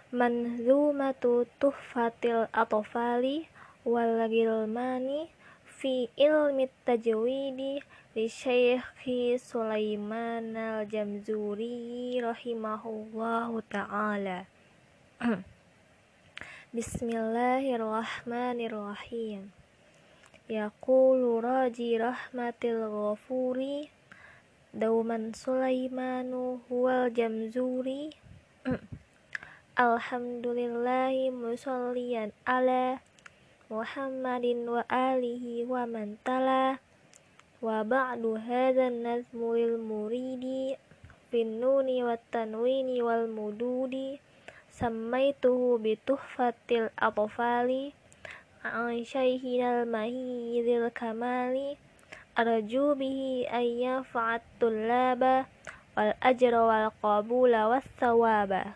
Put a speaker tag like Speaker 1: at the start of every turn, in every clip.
Speaker 1: Manzumatu tuhfatil atfali wal gilmani fi ilmi tajwidi li Syekhi Sulaiman al-Jamzuri rahimahullahu ta'ala. Bismillahirrahmanirrahim. Yaqulu raji rahmatil ghafuri dauman Sulaimanu huwal Jamzuri. Alhamdulillahi musalliyan ala Muhammadin wa alihi wa man tala. Wa ba'du hadzal nazmu lil muridi fin nuni wat tanwini wal mududi sammaituhu bi tuhfatil atfali an syaikhil mahidil kamali arju bihi ay yanfa'at tullaba wal ajra wal qabula was thawaba.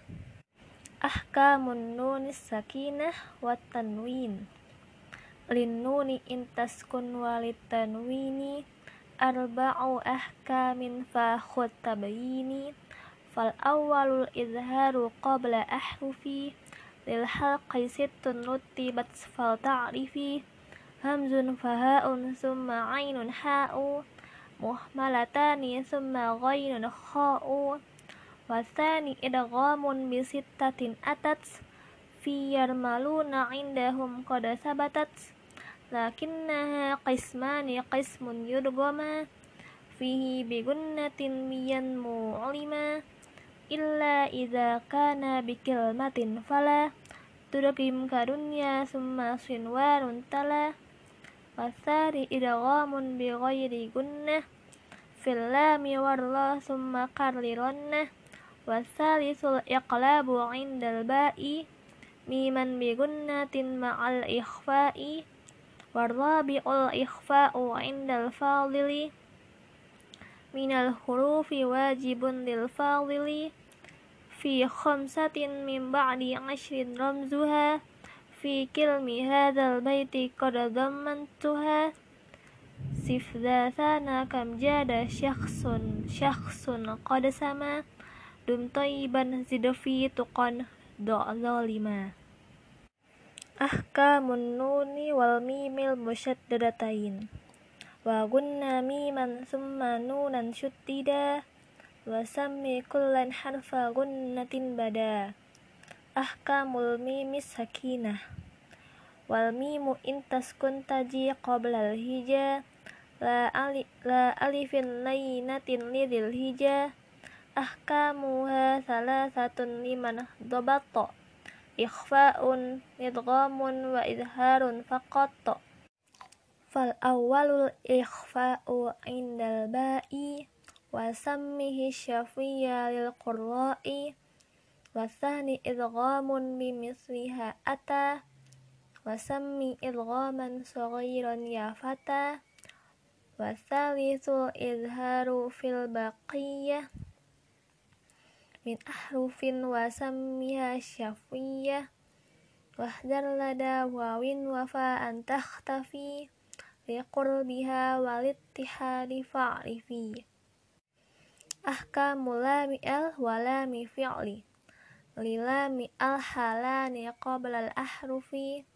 Speaker 1: Ahkamun nunis sakinah wat tanwin lin nuni intaskun walit tanwini arba'u ahkamin fa khud tabayini. Fal awwalul izharu qabla ahrufi lil halqi sittun rutibat fal ta'rifi hamzun faha'un summa ainun ha'u muhmalatani summa ghainun kha'u wasani idghamun bi sittatin atat fi yarmaluna indahum qad sabatat lakinnaha qismani qismun yudghama fihi bi gunnatin miyan mu'lima illa idza kana bi kilmatin fala tudghim kadunya summa sinwarun tala wasari idghamun bi ghairi gunnah fil lami warra summa qarrirannah wasalisul iqlabu indal ba'i miman bi gunnatin ma'al ikhfa'i warrabi'ul ikhfa'u indal fadili minal hurufi wajibun lil fadili fi khamsatin min ba'di 'ashrin ramzuha fi kilmi hadzal baiti qad dhammantuha sif dzasana kam jada syakhsun qad sama dum thayyiban zid fi tuqan zalima. Ahkamun nuni wal mimil musyaddadatain wa gunna miman summa nunan syuddida wa sammi kullan harfa gunnatin bada. Ahkamul mimis sakinah wal mimu intaskun taji qoblal hija la alifin laynatin lidil hija ahkamuha salasatun liman dhabatta ikhfa'un idghamun wa izharun faqat. Fal awwalul ikhfa'u indal ba'i wa sammihi syafiyya lil qurra'i wa tsani idghamun bi misliha ata wa sammi idghaman saghiran ya fata wa tsalitsul izharu fil baqiyah min ahrufin wa sammiha syafiyah wahdar lada wawin wa fa'an takhtafi liqurbiha walittihadi fa'rifi. Ahkamul lami al wa lami fi'li lilami al halani qabla al ahrufi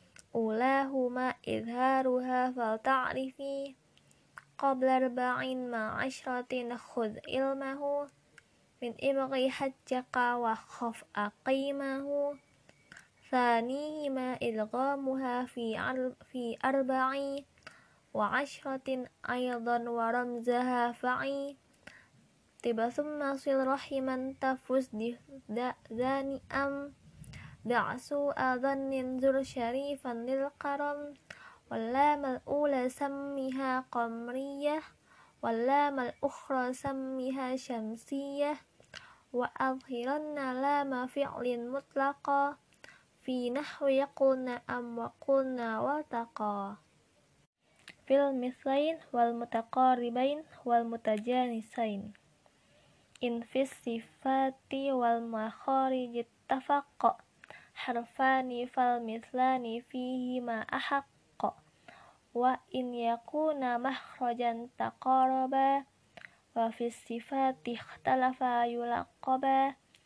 Speaker 1: ulahuma izharuha fal ta'rifi qabla arba'in ma'ashratin khudh ilmahu min ibghi hajjaka wa khaf aqimahu thanihima idghamuha fi arba'i wa ashratin aydan wa ramzaha fa'i tiba summa sil rahiman tafus dhani am da'su adhannin zur syarifan lil karam wallamal ula sammiha qamriyah wallamal ukhra sammiha syamsiyah wa adhiranna lama fi'lin mutlaqa fi nahwi qulna am wa qulna wa taqa fil mislain wal mutaqaribain wal mutajanisain in fis sifati wal makharij ittafaqa harfani fal mislani fihi ma ahaqqa wa in yakuna makhrajan taqaraba wa fis sifati ikhtalafa yulaqaba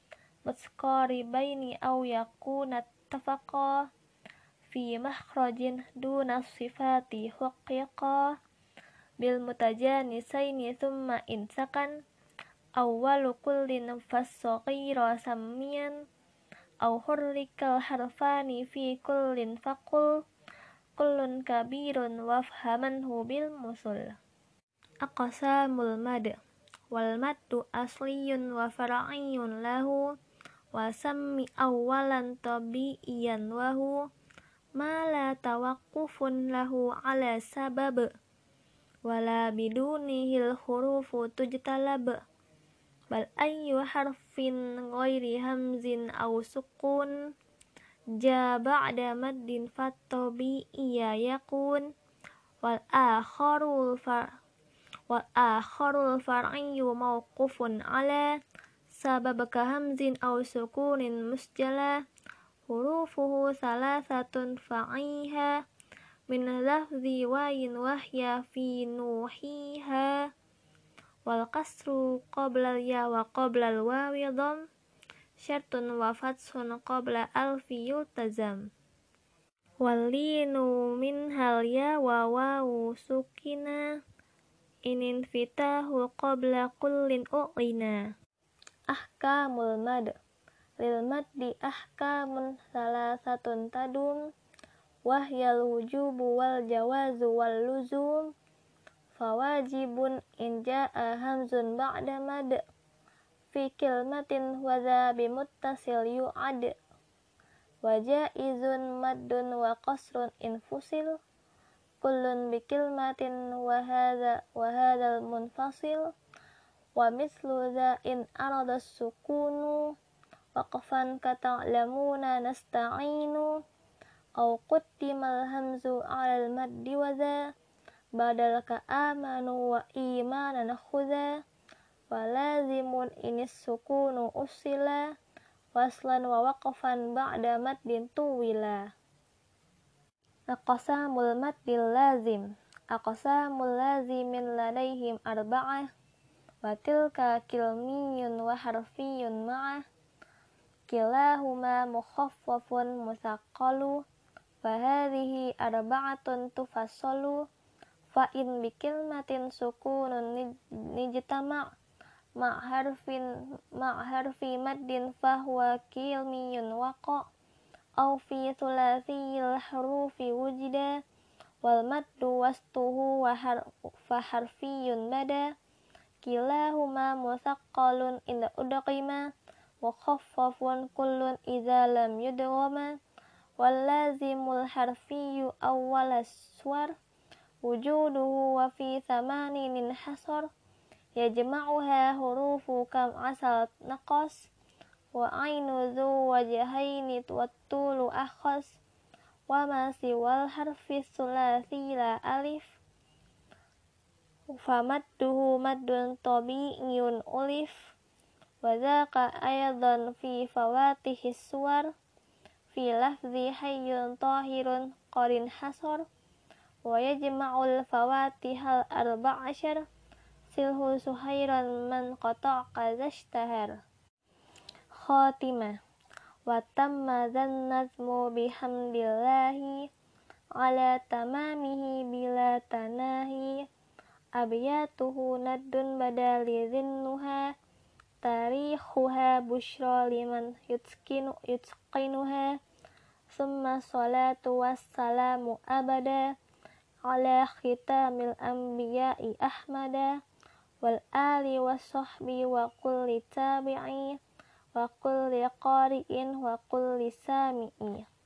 Speaker 1: متقاربين أو يكون اتفقا في مخرج دون الصفات حققا بالمتجانسين ثم إن سكن أول كل فالصغير سميا أو حرك الحرفان في كل فقل كل كبير وافهمنه بالمثل. أقسام المد والمد أصلي وفرعي له وسم أولا طبيعيا وهو ما لا توقف له على سبب ولا بدونه الحروف تجتلب بل أي حرف غير همز أو سكون جاء بعد مد فالطبيعي يكون والآخر الفرعي موقوف على سبب كهمز أو سكون مسجلا حروفه ثلاثة فعيها من لفظ واي وهي في نوحيها والقصر قبل الياء وقبل الواو ضم شرط وفتح قبل ألف يلتزم واللين منها الياء وواو سكنا إن انفتاح قبل كل أعلنا. أحكام المد للمد أحكام ثلاثة تدوم وهي الوجوب والجواز واللزوم فواجب إن جاء همز بعد مد في كلمة وذا بمتصل يعد وجائز مد وقصر إن فصل كل بكلمة وهذا المنفصل ومثل ذا إن أراد السكون وقفا كتعلمون نستعين أو قدم الهمز على المد وذا بدل كآمنوا وإيمانا خذا ولازم إن السكون أصلا وصلا ووقفا بعد مد طولا. أقسام المد اللازم أقسام اللازم لديهم أربعة وتلك كلمي وحرفي معه كلاهما مخفف مثقل فهذه أربعة تفصل فإن بكلمة سكون نجتمع مع حرف مد فهو كلمي وقع أو في ثلاثي الحروف وجدا والمد وسطه فحرفي بدا كلاهما مثقل إن أدغما مخفف كل إذا لم يدغما واللازم الحرفي أول السور وجوده وفي ثمان انحصر يجمعها حروف كم عسل نقص وعين ذو وجهين والطول أخص وما سوى الحرف الثلاثي لا ألف فمده مد طبيعي ألف وذاك أيضا في فواتح السور في لفظ حي طاهر قد انحصر ويجمع الفواتح الأربع عشر سله سهيرا من قطع كذا اشتهر. خاتمة وتم ذا النظم بحمد الله على تمامه بلا تناهي أبياته ند بدل ذنها تاريخها بشرى لمن يتقنها ثم الصلاة والسلام أبدا على ختام الأنبياء أحمدا والآل والصحب وكل تابعي وكل قارئ وكل سامع.